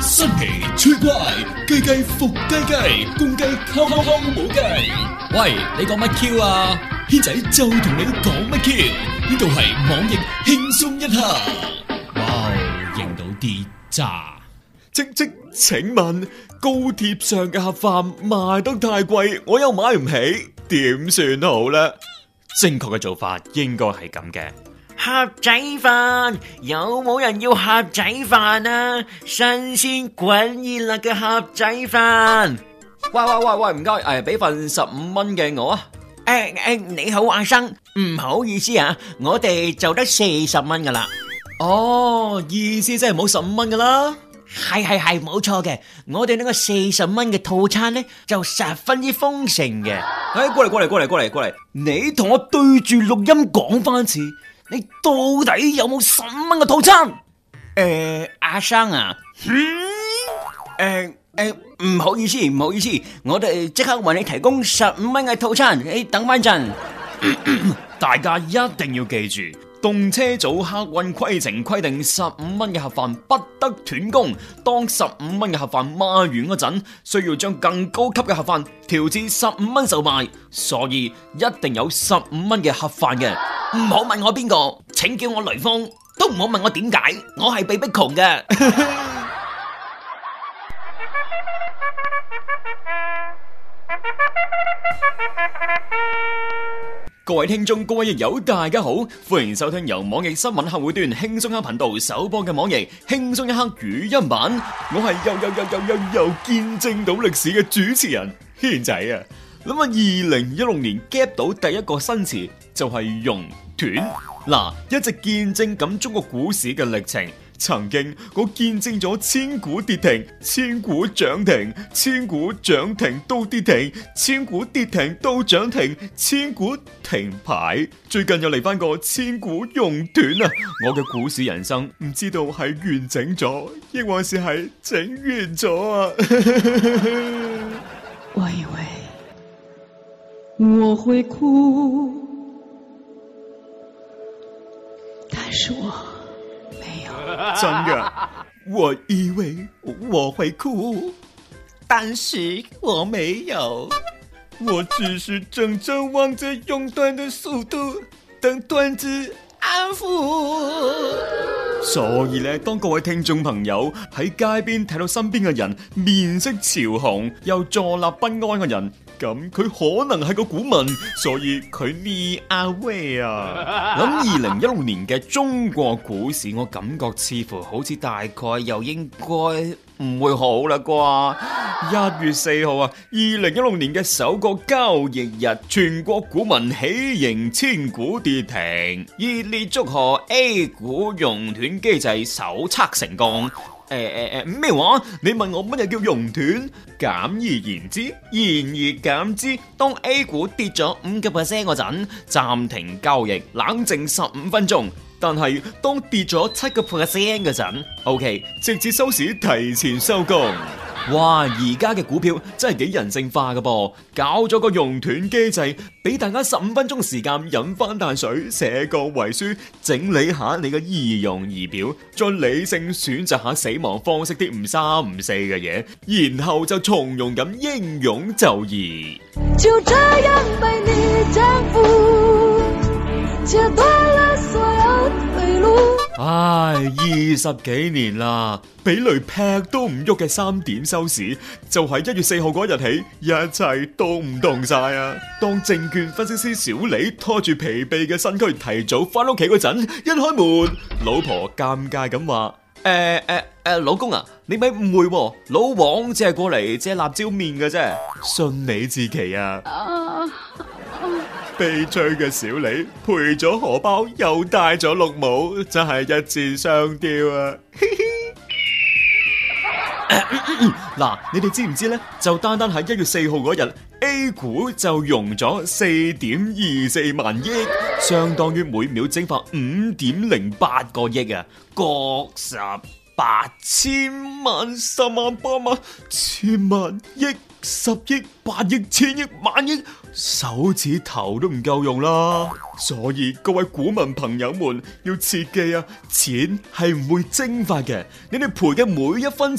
新奇趣怪，雞雞伏雞雞，公雞敲敲敲冇雞。喂，你講乜 Q 啊？軒仔就同你講乜 Q？呢度係網易輕鬆一刻。哇，認到啲渣。請問高鐵上嘅盒飯賣得太貴，我又買唔起，點算好呢？正確嘅做法應該係咁嘅。 盒仔飯，有冇人要盒仔飯啊？新鮮滾熱辣嘅盒仔飯。 喂，唔該，俾份15蚊嘅我啊。 你好阿生，唔好意思啊，我哋就得40蚊噶啦。 哦，意思即係冇15蚊噶啦。 係冇錯嘅，我哋呢個40蚊嘅套餐呢，就十分之豐盛嘅。 過嚟，你同我對住錄音講翻次，你到底有冇15蚊嘅套餐？ 阿生啊，唔好意思，我哋即刻為你提供15蚊嘅套餐，你等翻陣。 大家一定要記住，動車組客運規程規定15蚊嘅盒飯不得斷供。當15蚊嘅盒飯賣完嗰陣，需要將更高級嘅盒飯調至15蚊售賣，所以一定有15蚊嘅盒飯嘅。 唔好問我邊個，請叫我雷鋒，都唔好問我點解，我係被逼窮嘅。 各位聽眾，各位益友，大家好，歡迎收聽由網易新聞客戶端輕鬆一刻頻道首播嘅網易輕鬆一刻語音版。我係又見證到歷史嘅主持人軒仔啊！諗下2016年 gap 到第一個新詞就係熔斷。嗱，一直見證緊中國股市嘅歷程。曾經我見證咗千股跌停、千股漲停、千股漲停都跌停、千股跌停都漲停、千股停牌。最近又嚟翻個千股熔斷啊！我嘅股市人生唔知道係完整咗，抑或是係整完咗啊！ 我以為我會哭，但是我沒有。 真嘅，我以為我會哭， 但是我沒有。 我只是怔怔望着熔斷的速度，等斷子安撫。所以咧，當各位聽眾朋友喺街邊睇到身邊嘅人面色潮紅又坐立不安嘅人，咁佢可能係個股民，所以佢呢阿威啊。咁2016年嘅中國股市，我感覺似乎好似大概又應該唔會好啦啩。1月4號啊，2016年嘅首個交易日，全國股民喜迎千股跌停，熱烈祝賀 A 股熔斷機制首測成功。咩話？你問我乜嘢叫熔斷？簡而言之，言而減之，當 A 股跌咗5%嗰陣，暫停交易，冷靜15分鐘。但係當跌咗7%嗰陣 ，OK， 直至收市提前收工。哇！而家嘅股票真係幾人性化㗎噃，搞咗個熔斷機制，俾大家15分鐘時間飲翻啖水，寫個遺書，整理下你嘅儀容儀表，再理性選擇下死亡方式啲唔三唔四嘅嘢，然後就從容咁英勇就義。 就這樣被你征服，切斷了所有退路。 唉，20幾年啦，俾雷劈都唔喐嘅3點收市，就喺1月4號嗰日起，一切都唔同晒啊！當證券分析師小李拖住疲憊嘅身軀提早翻屋企嗰陣，一開門，老婆尷尬咁話：老公啊，你咪誤會喎，老王只係過嚟借辣椒麵嘅啫，信你自奇啊！悲催嘅小李賠咗荷包又戴咗綠帽，真係一箭雙雕啊！嗱，你哋知唔知呢？就單單喺1月4號嗰日 ，A 股就融咗4.24萬億，相當於每秒蒸發5.08個億啊！各十8千萬、10萬、8萬、千萬、億、10億、8億、千億、萬億，手指頭都唔夠用啦。所以各位股民朋友們要切記啊，錢係唔會蒸發嘅，你哋賠嘅每一分錢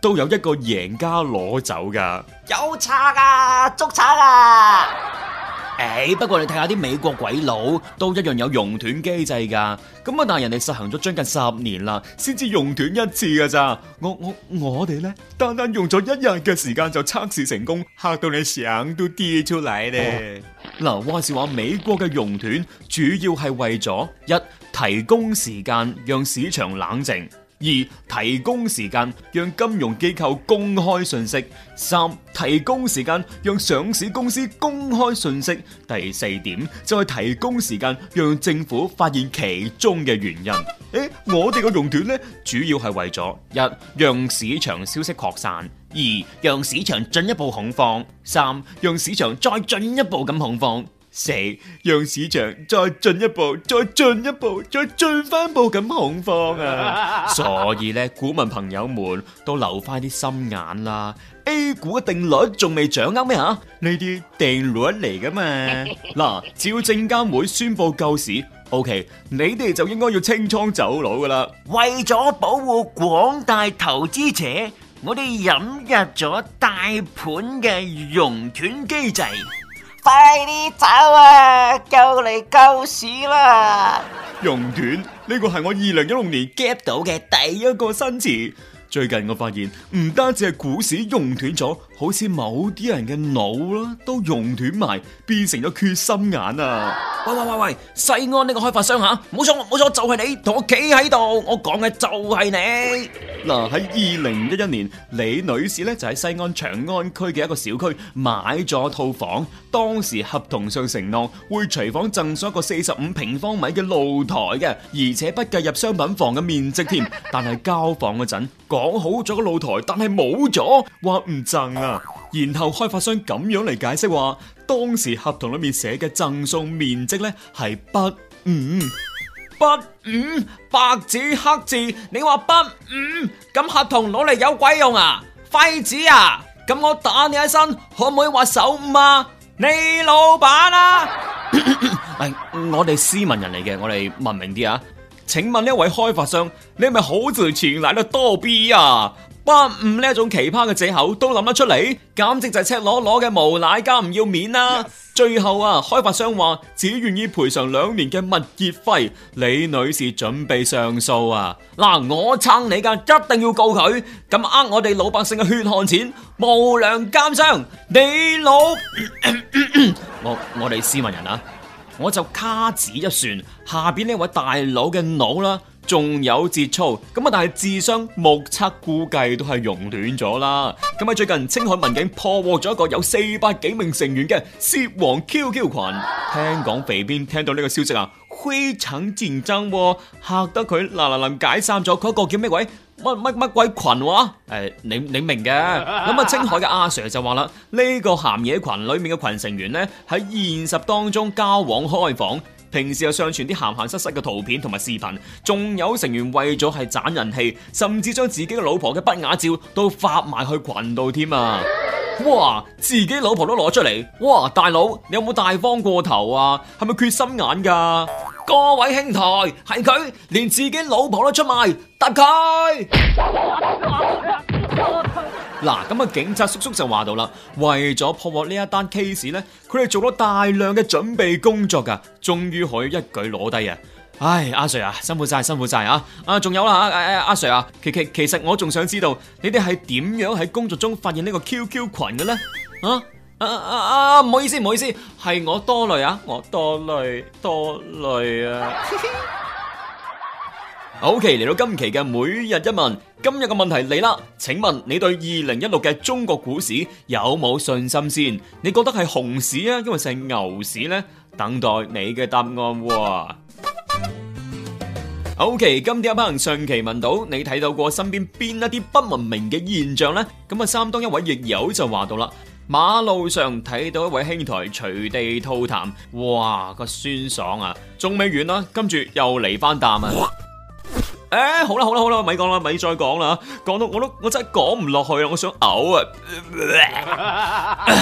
都有一個贏家攞走噶。 有賊啊，捉賊啊！不過你睇下啲美國鬼佬都一樣有熔斷機制噶，咁啊但係人哋實行咗將近10年啦，先至熔斷一次噶咋。我哋呢，單單用咗1日嘅時間就測試成功，嚇到你相都跌出嚟咧。嗱，話是話美國嘅熔斷主要係為咗一提供時間讓市場冷靜。2. 提供時間讓金融機構公開信息。3. 提供時間讓上市公司公開信息。第4點就係提供時間讓政府發現其中嘅原因。我哋嘅熔斷呢，主要係為咗1. 讓市場消息擴散。2. 讓市場進一步恐慌。3. 讓市場再進一步咁恐慌。4. 讓市場再進一步、再進一步、再進翻步咁恐慌啊！所以咧，股民朋友們都留翻啲心眼啦。A 股嘅定律仲未掌握咩吓？呢啲定律嚟噶嘛？嗱，只要證監會宣布救市 ，OK， 你哋就應該要清倉走佬噶啦。為咗保護廣大投資者，我哋引入咗大盤嘅熔斷機制。快啲走啊！救嚟救市啦！熔斷呢個係我2016年 get 到嘅第一個新詞。最近我發現唔單止係股市熔斷咗，好似某啲人嘅腦啦都熔斷埋，變成咗缺心眼啊！喂，西安呢個開發商吓，冇錯，就係你，同我企喺度，我講嘅就係你。嗱，喺2011年，李女士咧就喺西安長安區嘅一個小區買咗套房，當時合同上承諾會隨房贈送一個45平方米嘅露台嘅，而且不計入商品房嘅面積添。但係交房嗰陣講好咗個露台，但係冇咗，話唔贈啊。然後開發商咁樣嚟解釋話，當時合同裏面寫嘅贈送面積咧係不5，白紙黑字，你話不5，咁合同攞嚟有鬼用啊？廢紙啊！咁我打你一身，可唔可以話手誤啊？你老闆啊！我哋斯文人嚟嘅，我哋文明啲啊！請問呢一位開發商，你係咪好似前嚟得多 B 啊？不5呢一種奇葩嘅借口都諗得出嚟，簡直就係赤裸裸嘅無賴加唔要面啦！ Yes. 最後啊，開發商話只願意賠償2年嘅物業費，李女士準備上訴啊！嗱，我撐你噶，一定要告佢，咁我哋老百姓嘅血汗錢，無良奸商，你老我哋斯文人啊！我就卡指一算，下邊呢位大佬嘅腦啦，仲有節操，咁啊，但係智商目測估計都係熔斷咗啦。咁喺最近，青海民警破獲咗一個有400幾名成員嘅涉黃 QQ 群。聽講肥邊聽到呢個消息啊，非常緊張，嚇得佢嗱解散咗嗰個叫咩鬼？乜鬼群話？你明嘅。咁啊，青海嘅阿 Sir 就話啦，呢個鹹嘢群裏面嘅群成員呢，喺現實當中交往開房，平時又上傳啲鹹濕嘅圖片同埋視頻，仲有成員為咗係賺人氣，甚至將自己嘅老婆嘅不雅照都發埋去群度添啊！哇，自己老婆都攞出嚟，哇，大佬你有冇大方過頭啊？係咪缺心眼噶？各位兄台，係佢連自己老婆都出賣，答佢！嗱，咁啊，警察叔叔就話到啦，為咗破獲呢一單 case 呢，佢哋做咗大量嘅準備工作噶，終於可以一舉攞低啊！唉，阿 Sir 啊，辛苦晒啊！仲有啦，阿 Sir 啊，其實我仲想知道，你哋係點樣喺工作中發現呢個 QQ 群嘅呢？唔好意思，係我多慮啊，我多慮啊。OK， 嚟到今期嘅每日一問，今日嘅問題嚟啦，請問你對2016嘅中國股市有冇信心先？你覺得係熊市啊，因為係牛市呢？等待你嘅答案喎。OK， 今天有朋友上期問到你睇到過身邊邊一啲不文明嘅現象呢？咁啊，山東一位亦友就話到啦，馬路上睇到一位兄台隨地吐痰，哇，個酸爽啊，仲未完啦，跟住又嚟翻啖啊！好啦，咪講啦，咪再講啦，講到我真係講唔落去啦，我想嘔啊！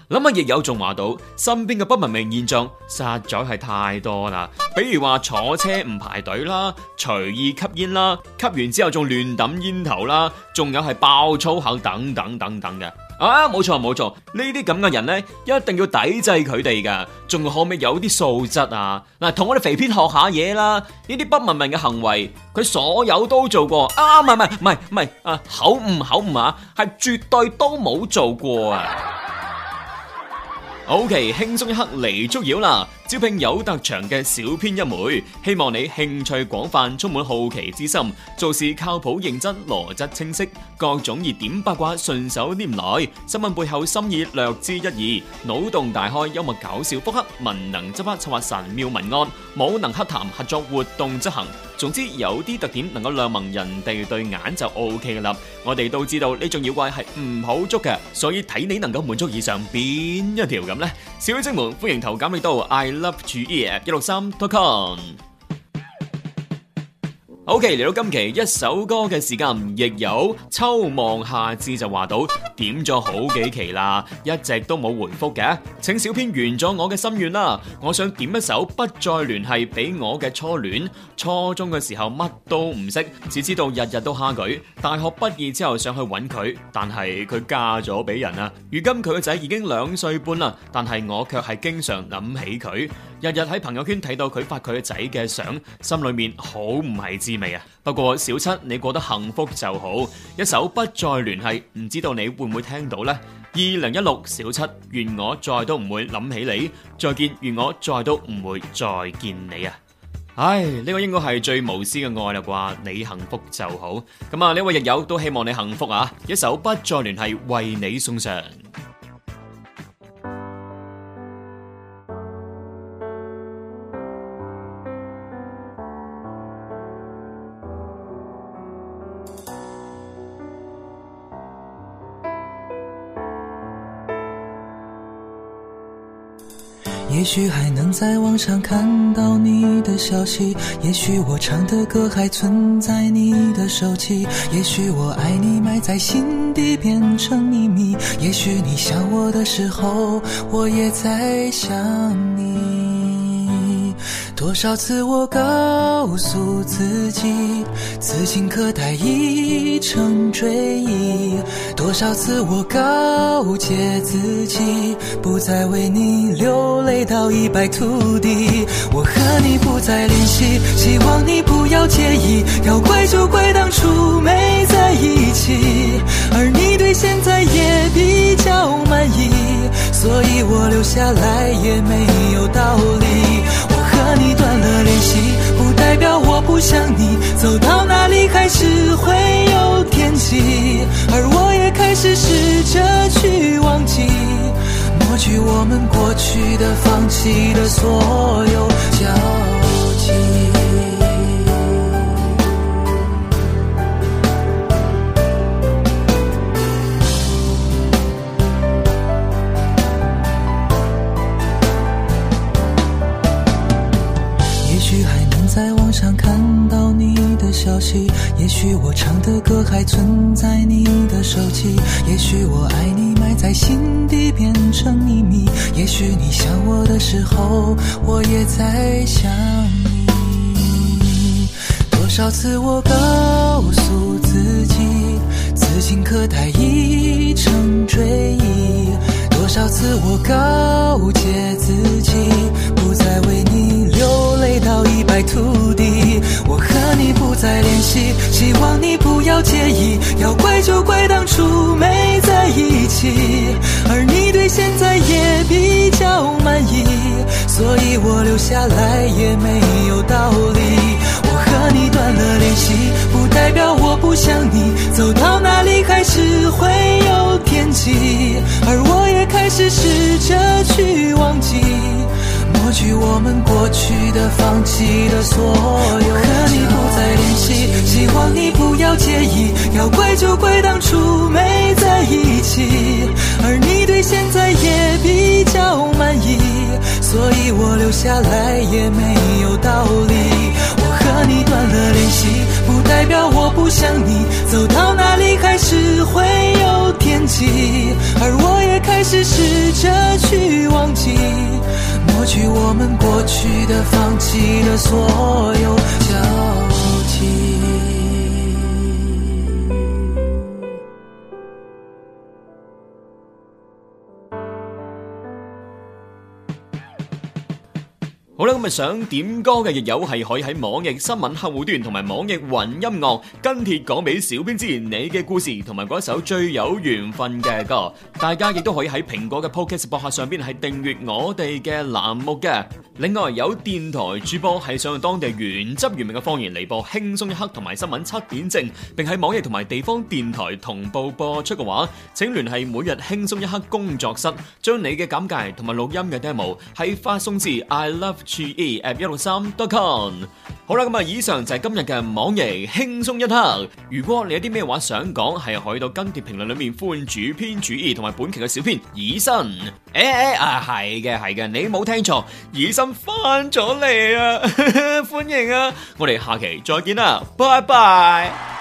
諗下亦有仲話到，身邊嘅不文明現象實在係太多啦，比如話坐車唔排隊啦，隨意吸煙啦，吸完之後仲亂抌煙頭啦，仲有係爆粗口等等等等嘅。冇錯，呢啲咁嘅人呢，一定要抵制佢哋噶，仲可唔可以有啲素質啊？嗱，同我哋肥片學下嘢啦，呢啲不文明嘅行為，佢所有都做過，唔係，口誤啊，係絕對都冇做過啊。OK， 輕鬆一刻嚟捉妖啦！招聘有特長嘅小編一枚，希望你興趣廣泛，充滿好奇之心，做事靠譜認真，邏輯清晰，各種熱點八卦順手拈來，新聞背後深意略知一二，腦洞大開，幽默搞笑，腹黑文能執筆策劃神妙文案，武能洽談合作活動執行。總之有啲特點能夠亮盲人哋對眼就 OK 啦。我哋都知道呢種妖怪係唔好捉嘅，所以睇你能夠滿足以上邊一條咁呢？小精們歡迎投簡歷到 iLoveGE163.com。OK， 嚟到今期一首歌嘅時間，亦有秋望夏至就話到點咗好幾期啦，一直都冇回覆嘅，請小編圓咗我嘅心願啦。我想點一首不再聯繫俾我嘅初戀，初中嘅時候乜都唔識，只知道日日都蝦佢。大學畢業之後想去揾佢，但係佢嫁咗俾人啊。如今佢個仔已經2歲半啦，但係我卻係經常諗起佢，日日喺朋友圈睇到佢發佢個仔嘅相，心裏面好唔係滋味啊。不過小七你過得幸福就好，一首不再聯繫，唔知道你會唔會聽到呢？2016小七，願我再都唔會諗起你，再見，願我再都唔會再見你啊！唉，呢個應該係最無私嘅愛啦啩，你幸福就好。咁啊，呢位日友都希望你幸福啊！一首不再聯繫為你送上。 也許還能在網上看到你的消息，也許我唱的歌還存在你的手機，也許我愛你埋在心底變成秘密，也許你想我的時候我也在想你。多少次我告訴自己，此情可待已成追憶，多少次我告誡自己，不再為你流淚到一敗塗地。我和你不再聯繫，希望你不要介意，要怪就怪當初沒在一起，而你對現在也比較滿意，所以我留下來也沒有道理。我和你斷了聯繫，不代表我不想你，走到哪裡還是會有惦記，而我也開始試着去忘記，抹去我們過去的放棄的所有交集。在網上看到你的消息，也許我唱的歌還存在你的手機，也許我愛你埋在心底變成秘密，也許你想我的時候我也在想你。多少次我告訴自己，此情可待已成追憶，多少次我告誡自己，不再為你流淚到一敗塗地。我和你不再聯繫，希望你不要介意，要怪就怪當初沒在一起，而你對現在也比較滿意，所以我留下來也沒有道理。我和你斷了聯繫，不代表我不想你，走到哪裡還是會有惦記，而我也開始試着去忘記，抹去我們過去的放棄的所有。我和你不再聯繫，希望你不要介意，要怪就怪當初沒在一起，而你對現在也比較滿意，所以我留下來也沒有道理。我和你斷了聯繫，不代表我不想你，走到哪裡還是會有惦記，而我也開始只試着去忘記，抹去我們過去的，放棄了所有交集。 好啦，咁想點歌嘅亦有係可以喺網易新聞客戶端同埋網易雲音樂跟帖講俾小編知你嘅故事同埋嗰一首最有緣分嘅歌。大家亦都可以喺蘋果嘅 Podcast 博客上邊係訂閱我哋嘅欄目嘅。另外有電台主播係想用當地原汁原味嘅方言嚟播輕鬆一刻同埋新聞7點正，並喺網易同埋地方電台同步播出嘅話，請聯繫每日輕鬆一刻工作室，將你嘅簡介同埋錄音嘅 demo 係發送至 iLoveGE@163.com。好啦，咁以上就係今日嘅網易輕鬆一刻。如果你有啲咩話想講，係可以到跟帖評論裏面歡迎主編主義同埋本期嘅小編以身。係嘅，你冇聽錯，以身翻咗嚟啊！歡迎啊！我哋下期再見啦，拜拜。